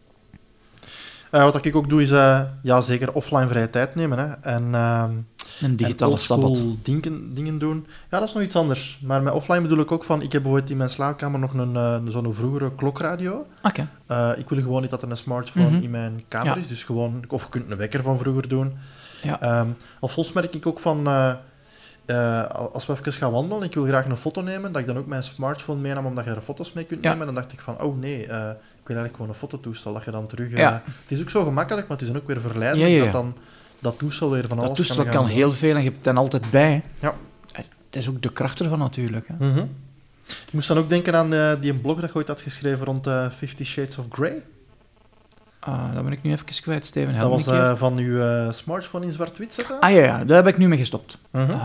B: Wat ik ook doe is zeker offline vrije tijd nemen. Hè.
A: Een digitale sabbat.
B: Dingen doen. Ja, dat is nog iets anders. Maar met offline bedoel ik ook van... Ik heb bijvoorbeeld in mijn slaapkamer nog zo'n vroegere klokradio.
A: Okay.
B: Ik wil gewoon niet dat er een smartphone in mijn kamer is. Dus gewoon... Of je kunt een wekker van vroeger doen. Ja. Of soms merk ik ook van... als we even gaan wandelen, ik wil graag een foto nemen, dat ik dan ook mijn smartphone meenam, omdat je er foto's mee kunt nemen. En dan dacht ik van, oh nee... ik wil eigenlijk gewoon een fototoestel, dat je dan terug... Het is ook zo gemakkelijk, maar het is dan ook weer verleidelijk dat dan dat toestel weer van alles kan gaan.
A: Dat toestel kan heel veel en je hebt het dan altijd bij. Ja. Dat is ook de kracht ervan natuurlijk. Hè.
B: Ik moest dan ook denken aan die blog dat je ooit had geschreven rond 50 Shades of Grey.
A: Dat ben ik nu even kwijt, Steven.
B: Dat was van uw smartphone in zwart-wit zetten?
A: Ja, daar heb ik nu mee gestopt.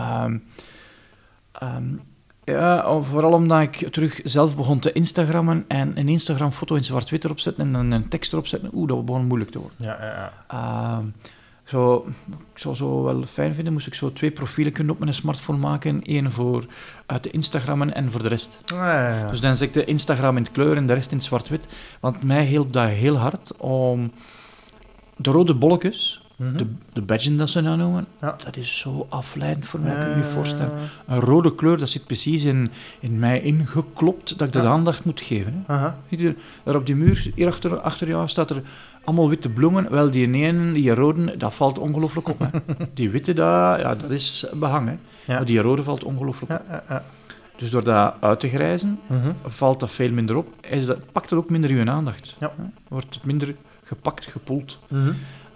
A: Vooral omdat ik terug zelf begon te Instagrammen en een Instagram-foto in zwart-wit erop zetten en dan een tekst erop zetten. Dat begon moeilijk te worden. Ik zou zo wel fijn vinden, moest ik zo 2 profielen kunnen op mijn smartphone maken. Eén voor uit de Instagrammen en voor de rest. Dus dan zet ik de Instagram in het kleur en de rest in het zwart-wit. Want mij hielp dat heel hard om de rode bolletjes de badge dat ze dat noemen,
B: Ja.
A: dat is zo afleidend voor mij, kan je je voorstellen. Een rode kleur, dat zit precies in mij ingeklopt, dat ik de aandacht moet geven. Hè.
B: Aha.
A: Zie je, daar op die muur, hier achter jou, staat er allemaal witte bloemen. Wel, die ene, die rode, dat valt ongelooflijk op. Hè. Die witte, dat is behang. Hè.
B: Ja.
A: Maar die rode valt ongelooflijk op.
B: Ja.
A: Dus door dat uit te grijzen, valt dat veel minder op. Pakt het ook minder uw aandacht.
B: Ja.
A: Hè. Wordt het minder gepakt, gepoeld.
B: Mhm.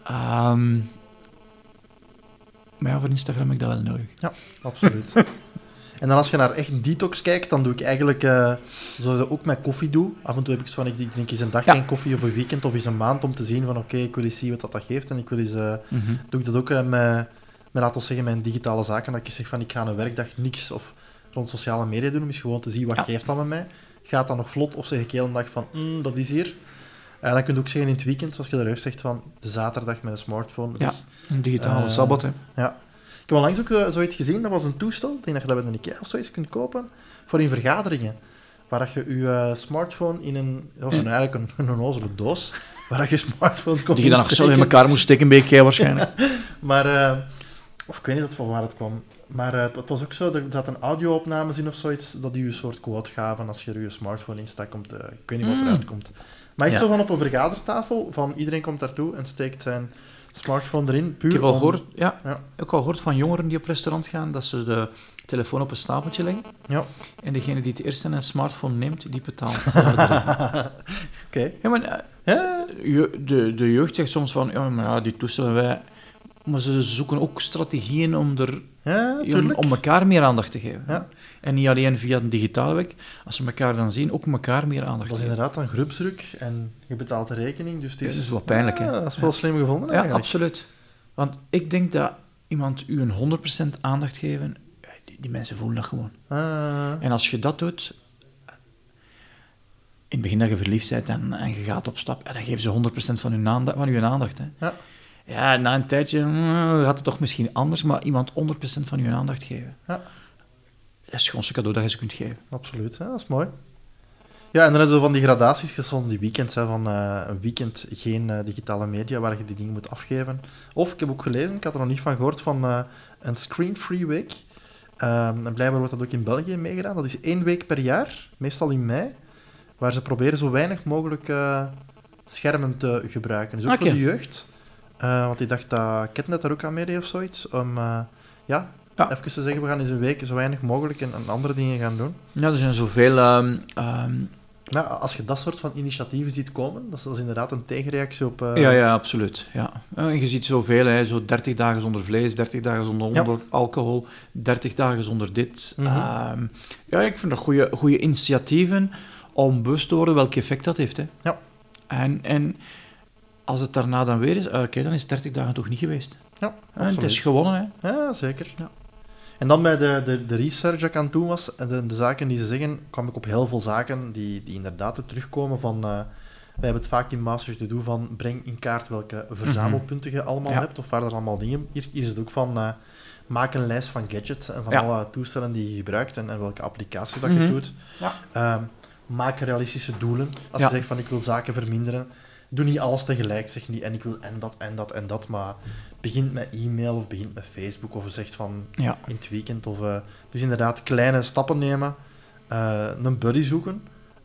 A: Maar ja, voor Instagram heb ik dat wel nodig.
B: Ja, absoluut. En dan als je naar echt detox kijkt, dan doe ik eigenlijk, zoals ik ook met koffie doe, af en toe heb ik zo van, ik drink eens een dag geen koffie of een weekend of eens een maand om te zien van, oké, ik wil eens zien wat dat geeft. En ik wil eens, doe ik dat ook met, laten we zeggen, mijn digitale zaken, dat ik zeg van, ik ga een werkdag niks of rond sociale media doen, om eens gewoon te zien wat geeft dat met mij. Gaat dat nog vlot of zeg ik heel een dag van, dat is hier. En dan kun je ook zeggen in het weekend, zoals je eruit zegt, van de zaterdag met een smartphone.
A: Ja, een digitale sabbat, hè.
B: Ja. Ik heb onlangs ook zoiets gezien, dat was een toestel, ik denk dat je dat bij een IKEA of zoiets kunt kopen, voor in vergaderingen. Waar je je smartphone in eigenlijk een onnozele doos, waar je smartphone kon
A: Die je dan nog zo in elkaar moest steken, een beetje waarschijnlijk.
B: Maar, of ik weet niet van waar het kwam, maar het was ook zo, er zat een audio-opnames in of zoiets, dat die je een soort quote gaven als je er je smartphone instak, ik weet niet wat eruit komt. Maar echt zo van op een vergadertafel, van iedereen komt daartoe en steekt zijn smartphone erin, puur
A: Ik heb al
B: om...
A: gehoord, ook al gehoord van jongeren die op restaurant gaan, dat ze de telefoon op een stapeltje leggen.
B: Ja.
A: En degene die het eerst een smartphone neemt, die betaalt.
B: Oké.
A: Ja, maar de jeugd zegt soms van, die toestellen wij... Maar ze zoeken ook strategieën om om elkaar meer aandacht te geven.
B: Ja.
A: En niet alleen via de digitale weg. Als ze elkaar dan zien, ook elkaar meer aandacht
B: Dat is
A: geven.
B: inderdaad een groepsdruk en je betaalt de rekening, dus het is...
A: Dat is wat pijnlijk, hè?
B: Ja, dat is wel slim gevonden,
A: Ja,
B: eigenlijk.
A: absoluut. Want ik denk dat iemand u een 100% aandacht geven, die mensen voelen dat gewoon. En als je dat doet, in het begin dat je verliefd bent en je gaat op stap, dan geven ze 100% van uw aandacht. Hè.
B: Ja.
A: Ja, na een tijdje gaat het toch misschien anders, maar iemand 100% van uw aandacht geven.
B: Ja.
A: Dat is het schoonste cadeau dat je ze kunt geven.
B: Absoluut, dat is mooi. Ja, en dan hebben we van die gradaties, van die weekends, van een weekend geen digitale media, waar je die dingen moet afgeven. Of, ik heb ook gelezen, ik had er nog niet van gehoord, van een screen-free week. En blijkbaar wordt dat ook in België meegedaan. Dat is 1 week per jaar, meestal in mei, waar ze proberen zo weinig mogelijk schermen te gebruiken. Dus ook voor de jeugd. Want ik dacht dat Ketnet daar ook aan meedeed of zoiets, om even te zeggen, we gaan eens een week zo weinig mogelijk en andere dingen gaan doen.
A: Ja, er zijn zoveel...
B: Maar als je dat soort van initiatieven ziet komen, dat is inderdaad een tegenreactie op...
A: Ja, absoluut. Ja. En je ziet zoveel, hè, zo 30 dagen zonder vlees, 30 dagen zonder alcohol, 30 dagen zonder dit.
B: Mm-hmm.
A: Ik vind dat goede initiatieven om bewust te worden welk effect dat heeft. Hè.
B: Ja.
A: En als het daarna dan weer is, dan is 30 dagen toch niet geweest.
B: Ja, absoluut.
A: Het is gewonnen, hè.
B: Ja, zeker. Ja. En dan bij de research dat ik aan het doen was, de zaken die ze zeggen, kwam ik op heel veel zaken die inderdaad ook terugkomen van... wij hebben het vaak in Masters te doen van, breng in kaart welke verzamelpunten je allemaal hebt, of waar er allemaal dingen... Hier is het ook van, maak een lijst van gadgets en van alle toestellen die je gebruikt en welke applicatie dat je doet. Ja. Maak realistische doelen. Als je zegt van, ik wil zaken verminderen, doe niet alles tegelijk. Zeg niet, en ik wil en dat, maar... begint met e-mail of begint met Facebook of zegt van in het weekend. Dus inderdaad, kleine stappen nemen. Een buddy zoeken.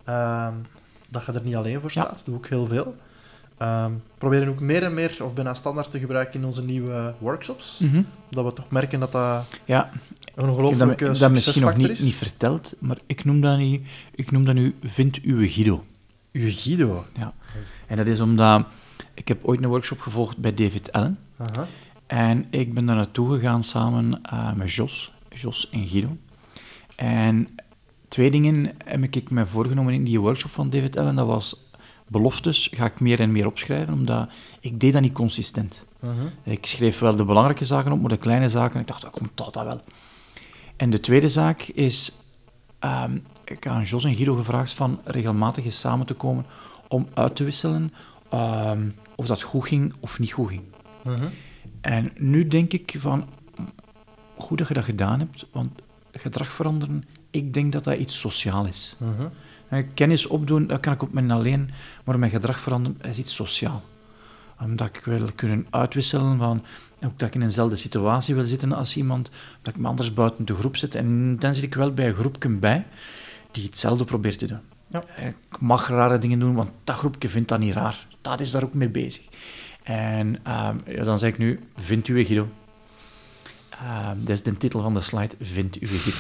B: Dat je er niet alleen voor staat. Dat doe ik heel veel. Proberen ook meer en meer, of bijna standaard te gebruiken in onze nieuwe workshops. Mm-hmm. Dat we toch merken dat dat een ongelooflijke succesfactor is. Ik heb dat misschien nog
A: niet verteld, maar ik noem dat nu Vind Uwe Guido.
B: Uwe Guido?
A: Ja. En dat is omdat... Ik heb ooit een workshop gevolgd bij David Allen.
B: Aha.
A: En ik ben daar naartoe gegaan samen met Jos en Guido. En 2 dingen heb ik me voorgenomen in die workshop van David Allen. Dat was beloftes, ga ik meer en meer opschrijven, omdat ik deed dat niet consistent. Uh-huh. Ik schreef wel de belangrijke zaken op, maar de kleine zaken, ik dacht, komt dat wel. En de tweede zaak is, ik heb aan Jos en Guido gevraagd van regelmatig eens samen te komen om uit te wisselen of dat goed ging of niet goed ging. Uh-huh. En nu denk ik van, goed dat je dat gedaan hebt, want gedrag veranderen, ik denk dat dat iets sociaal is. Uh-huh. Kennis opdoen, dat kan ik op mijn alleen, maar mijn gedrag veranderen, is iets sociaal. Omdat ik wil kunnen uitwisselen van... Ook dat ik in eenzelfde situatie wil zitten als iemand. Dat ik me anders buiten de groep zet. En dan zit ik wel bij een groepje bij die hetzelfde probeert te doen.
B: Ja.
A: Ik mag rare dingen doen, want dat groepje vindt dat niet raar. Dat is daar ook mee bezig. En dan zeg ik nu, vind uw Guido. Dat is de titel van de slide, vind uw Guido.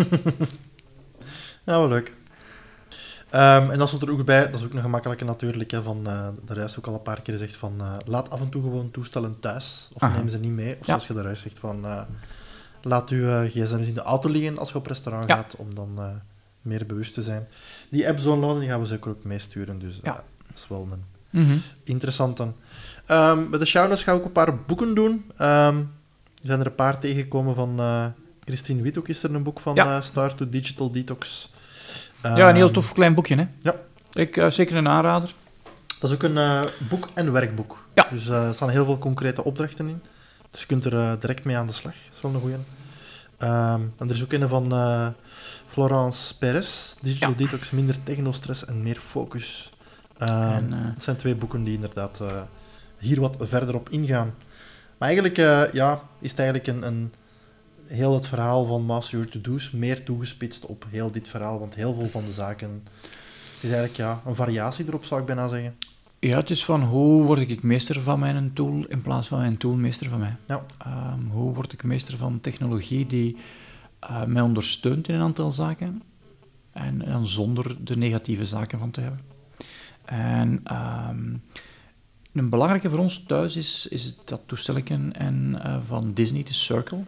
B: Ja, wel leuk. En dat stond er ook bij, dat is ook een gemakkelijke natuurlijk, hè, van, daar juist ook al een paar keer gezegd van, laat af en toe gewoon toestellen thuis, of neem ze niet mee. Of zoals je daar juist zegt van, laat uw gsm's in de auto liggen als je op restaurant gaat, om dan meer bewust te zijn. Die app downloaden, die gaan we zeker ook meesturen, dus dat is wel een interessante. Bij de show notes ga ik ook een paar boeken doen. Er zijn er een paar tegengekomen van Christine Witt, ook is er een boek van Start to Digital Detox.
A: Een heel tof klein boekje, hè?
B: Ja.
A: Ik zeker een aanrader.
B: Dat is ook een boek en werkboek.
A: Ja.
B: Dus er staan heel veel concrete opdrachten in. Dus je kunt er direct mee aan de slag. Dat is wel een goeie. En er is ook een van Florence Perez, Digital Detox, minder technostress en meer focus. Dat zijn 2 boeken die inderdaad hier wat verder op ingaan. Maar eigenlijk is het eigenlijk een heel het verhaal van Master Your To-Do's meer toegespitst op heel dit verhaal, want heel veel van de zaken... Het is eigenlijk een variatie erop, zou ik bijna zeggen.
A: Ja, het is van hoe word ik meester van mijn tool in plaats van mijn tool meester van mij.
B: Ja.
A: Hoe word ik meester van technologie die mij ondersteunt in een aantal zaken en zonder de negatieve zaken van te hebben. En een belangrijke voor ons thuis is dat toestelletje van Disney, de Circle.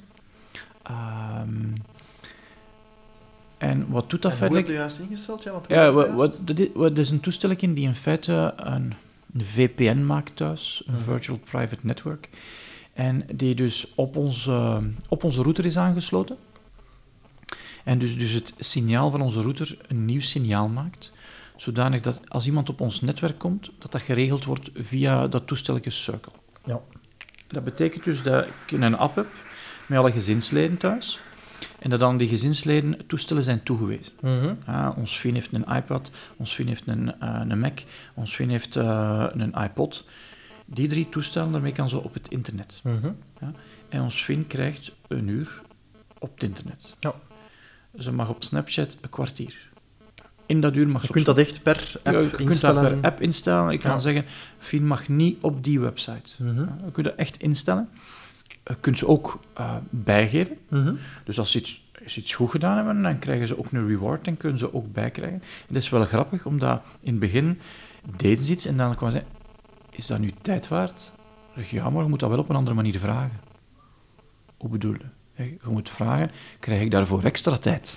A: En wat doet dat
B: en
A: verder?
B: Hoe heb je juist ingesteld? Ja,
A: wat is een toestelletje die in feite een VPN maakt thuis, een Virtual Private Network, en die dus op onze router is aangesloten. En dus het signaal van onze router een nieuw signaal maakt, zodanig dat als iemand op ons netwerk komt, dat geregeld wordt via dat toestelletje Circle.
B: Ja.
A: Dat betekent dus dat ik een app heb met alle gezinsleden thuis, en dat dan die gezinsleden toestellen zijn toegewezen. Ons vriend heeft een iPad, ons vriend heeft een Mac, ons vriend heeft een iPod. Die 3 toestellen, daarmee kan ze op het internet. En ons vriend krijgt 1 uur op het internet.
B: Ja.
A: Ze mag op Snapchat een kwartier. In dat uur mag
B: je
A: ze...
B: kunt dat echt per app instellen.
A: Je kunt dat per app instellen. Ik kan zeggen, vriend mag niet op die website. Je kunt dat echt instellen. Je kunt ze ook bijgeven. Dus als ze iets goed gedaan hebben, dan krijgen ze ook een reward en kunnen ze ook bijkrijgen. En dat is wel grappig, omdat in het begin deden ze iets en dan kwamen ze zeggen, is dat nu tijd waard? Ja, maar je moet dat wel op een andere manier vragen. Hoe bedoel je? Je moet vragen, krijg ik daarvoor extra tijd?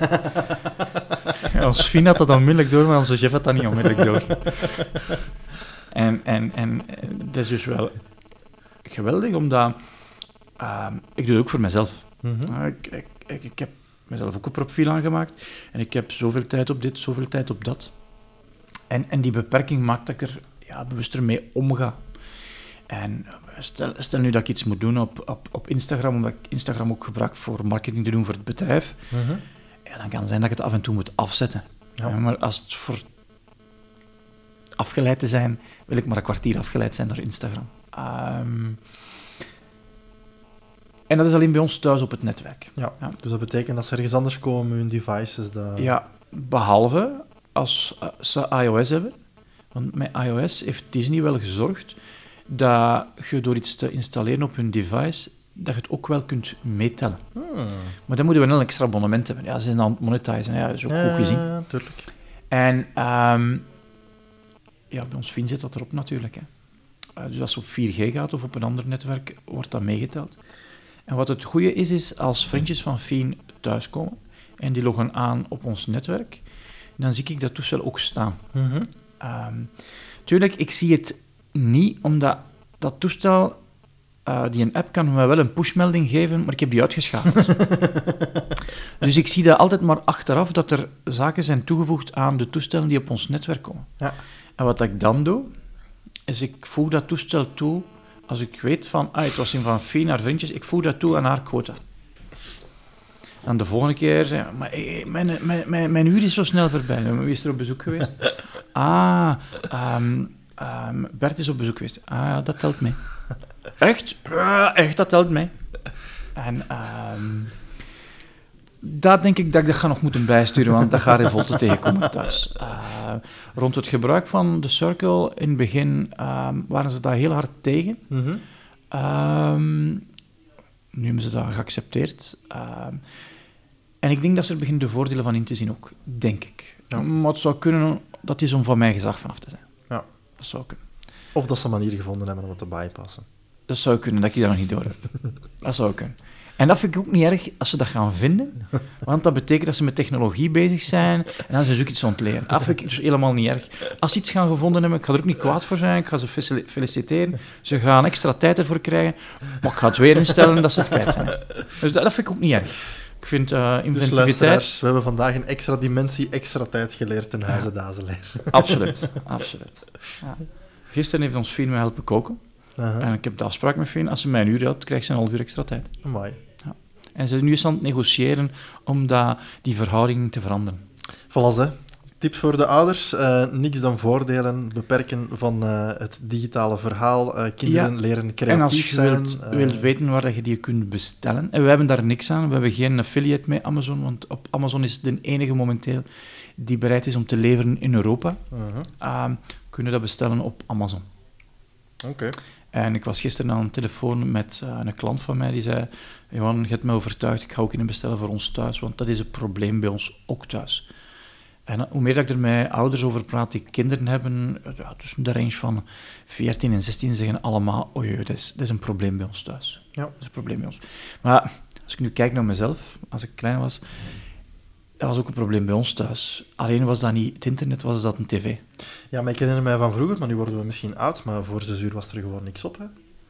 A: Ons Fien had dat onmiddellijk door, maar onze chef had dat niet onmiddellijk door. En dat is dus wel geweldig, omdat ik doe het ook voor mezelf. Ik heb mezelf ook een profiel aangemaakt en ik heb zoveel tijd op dit, zoveel tijd op dat. En die beperking maakt dat ik er bewuster mee omga. En stel nu dat ik iets moet doen op Instagram, omdat ik Instagram ook gebruik voor marketing te doen voor het bedrijf, dan kan het zijn dat ik het af en toe moet afzetten. Ja. Maar als het voor afgeleid te zijn, wil ik maar een kwartier afgeleid zijn door Instagram. En dat is alleen bij ons thuis op het netwerk.
B: Ja. Dus dat betekent dat ze ergens anders komen, hun devices...
A: Ja, behalve als ze iOS hebben. Want met iOS heeft Disney wel gezorgd dat je door iets te installeren op hun device, dat je het ook wel kunt meetellen. Maar dan moeten we wel een extra abonnement hebben. Ja, ze zijn aan het monetizen. Ja, dat is ook goed gezien.
B: Ja, tuurlijk.
A: En bij ons Fien zit dat erop natuurlijk. Hè. Dus als het op 4G gaat of op een ander netwerk, wordt dat meegeteld. En wat het goede is als vriendjes van Fien thuiskomen en die loggen aan op ons netwerk, dan zie ik dat toestel ook staan. Tuurlijk, ik zie het niet, omdat dat toestel, die een app kan me wel een pushmelding geven, maar ik heb die uitgeschakeld. Dus ik zie dat altijd maar achteraf, dat er zaken zijn toegevoegd aan de toestellen die op ons netwerk komen.
B: Ja.
A: En wat ik dan doe, is ik voeg dat toestel toe, als ik weet van, het was in van Fien naar vriendjes, ik voeg dat toe aan haar quota. En de volgende keer, maar mijn uur is zo snel voorbij. Wie is er op bezoek geweest? Bert is op bezoek geweest. Ah, ja, dat telt mee. Echt? Echt, dat telt mee. En daar denk ik dat ik dat ga nog moeten bijsturen, want dat gaat revolte tegenkomen thuis. Rond het gebruik van de Circle, in het begin waren ze daar heel hard tegen. Nu hebben ze dat geaccepteerd. En ik denk dat ze er beginnen de voordelen van in te zien ook, denk ik.
B: Ja.
A: Maar het zou kunnen dat is om van mijn gezag vanaf te zijn.
B: Ja.
A: Dat zou kunnen.
B: Of dat ze een manier gevonden hebben om het te bypassen.
A: Dat zou kunnen, dat ik dat nog niet door heb. Dat zou kunnen. En dat vind ik ook niet erg als ze dat gaan vinden, want dat betekent dat ze met technologie bezig zijn en dan zijn ze ook iets aan het leren. Dat vind ik dus helemaal niet erg. Als ze iets gaan gevonden hebben, ik ga er ook niet kwaad voor zijn, ik ga ze feliciteren, ze gaan extra tijd ervoor krijgen, maar ik ga het weer instellen dat ze het kwijt zijn. Dus dat vind ik ook niet erg. Ik vind inventiviteit...
B: Dus luisteraars, we hebben vandaag een extra dimensie, extra tijd geleerd ten huize Dazeleer.
A: Absoluut, absoluut. Ja. Gisteren heeft ons Fien mij helpen koken. En ik heb de afspraak met Fien, als ze mij een uur helpt, krijgt ze een half uur extra tijd.
B: Amai.
A: Ja. En ze is nu eens aan het negociëren om die verhouding te veranderen.
B: Voilà, hè. Tips voor de ouders. Niks dan voordelen, beperken van het digitale verhaal. Kinderen leren creatief
A: en als je
B: zijn.
A: wilt weten waar dat je die kunt bestellen, en we hebben daar niks aan, we hebben geen affiliate met Amazon, want op Amazon is het de enige momenteel die bereid is om te leveren in Europa. Kunnen dat bestellen op Amazon.
B: Oké.
A: En ik was gisteren aan de telefoon met een klant van mij die zei: Johan, je hebt me overtuigd, ik ga ook in bestellen voor ons thuis, want dat is een probleem bij ons ook thuis. En hoe meer dat ik er met ouders over praat die kinderen hebben, tussen de range van 14 en 16, zeggen allemaal: oei, dat is een probleem bij ons thuis.
B: Ja.
A: Dat is een probleem bij ons. Maar als ik nu kijk naar mezelf, als ik klein was, dat was ook een probleem bij ons thuis. Alleen was dat niet het internet, was dat een tv.
B: Ja, maar ik herinner mij van vroeger, maar nu worden we misschien oud, maar voor 6 uur was er gewoon niks op, hè?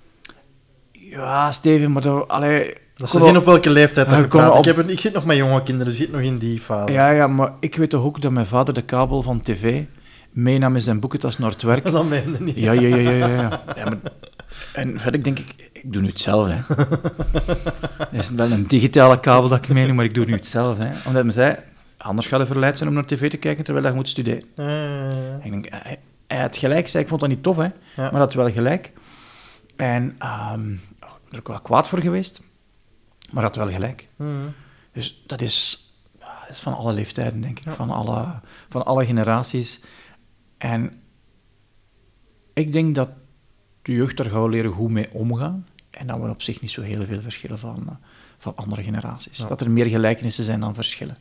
A: Ja, Steven, maar
B: dat ze zien op welke leeftijd dat je praat.
A: op...
B: Ik zit nog met jonge kinderen, dus ik zit nog in die fase.
A: Ja, maar ik weet toch ook dat mijn vader de kabel van tv meenam in zijn boekentas naar het werk.
B: Dat meende niet.
A: Ja. Maar, en verder denk ik doe nu hetzelfde. Hè. Het is wel een digitale kabel dat ik meeneem, maar ik doe nu hetzelfde. Hè. Omdat hij zei, anders ga je verleid zijn om naar tv te kijken terwijl je moet studeren. Ik denk, hij had gelijk, zei, ik vond dat niet tof, hè, maar dat had wel gelijk. En er ook wel kwaad voor geweest, maar had wel gelijk. Dus dat is van alle leeftijden, denk ik, van alle generaties. En ik denk dat de jeugd daar gauw leren hoe mee omgaan en dat we op zich niet zo heel veel verschillen van andere generaties. Ja. Dat er meer gelijkenissen zijn dan verschillen.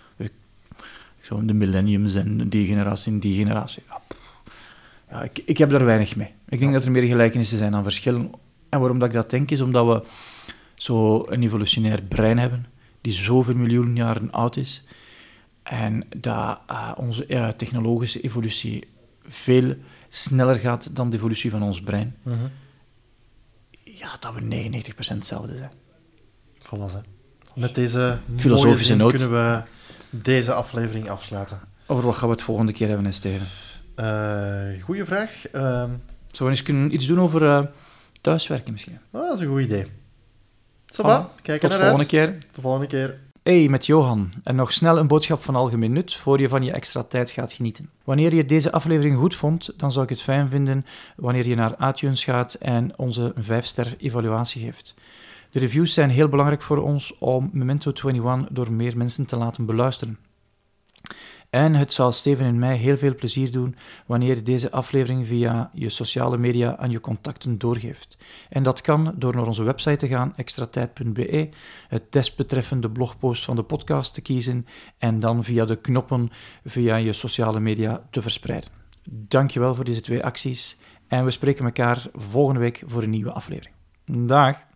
A: Zo de millenniums en die generatie. Ja, ik heb daar weinig mee. Ik denk dat er meer gelijkenissen zijn dan verschillen. En waarom dat ik dat denk, is omdat we zo een evolutionair brein hebben, die zoveel miljoenen jaren oud is, en dat onze technologische evolutie veel sneller gaat dan de evolutie van ons brein. Ja, dat we 99% hetzelfde zijn.
B: Voilà, hè. Met deze
A: filosofische noot
B: kunnen we deze aflevering afsluiten.
A: Over wat gaan we het volgende keer hebben, Steven?
B: Goeie vraag.
A: Zullen we eens kunnen iets doen over thuiswerken misschien?
B: Dat is een goed idee. Kijk
A: tot de
B: volgende keer.
A: Hey, met Johan. En nog snel een boodschap van algemeen nut, voor je van je extra tijd gaat genieten. Wanneer je deze aflevering goed vond, dan zou ik het fijn vinden wanneer je naar iTunes gaat en onze 5-ster evaluatie geeft. De reviews zijn heel belangrijk voor ons om Memento 21 door meer mensen te laten beluisteren. En het zal Steven en mij heel veel plezier doen wanneer je deze aflevering via je sociale media aan je contacten doorgeeft. En dat kan door naar onze website te gaan, extratijd.be, het desbetreffende blogpost van de podcast te kiezen en dan via de knoppen via je sociale media te verspreiden. Dankjewel voor deze 2 acties en we spreken elkaar volgende week voor een nieuwe aflevering. Dag!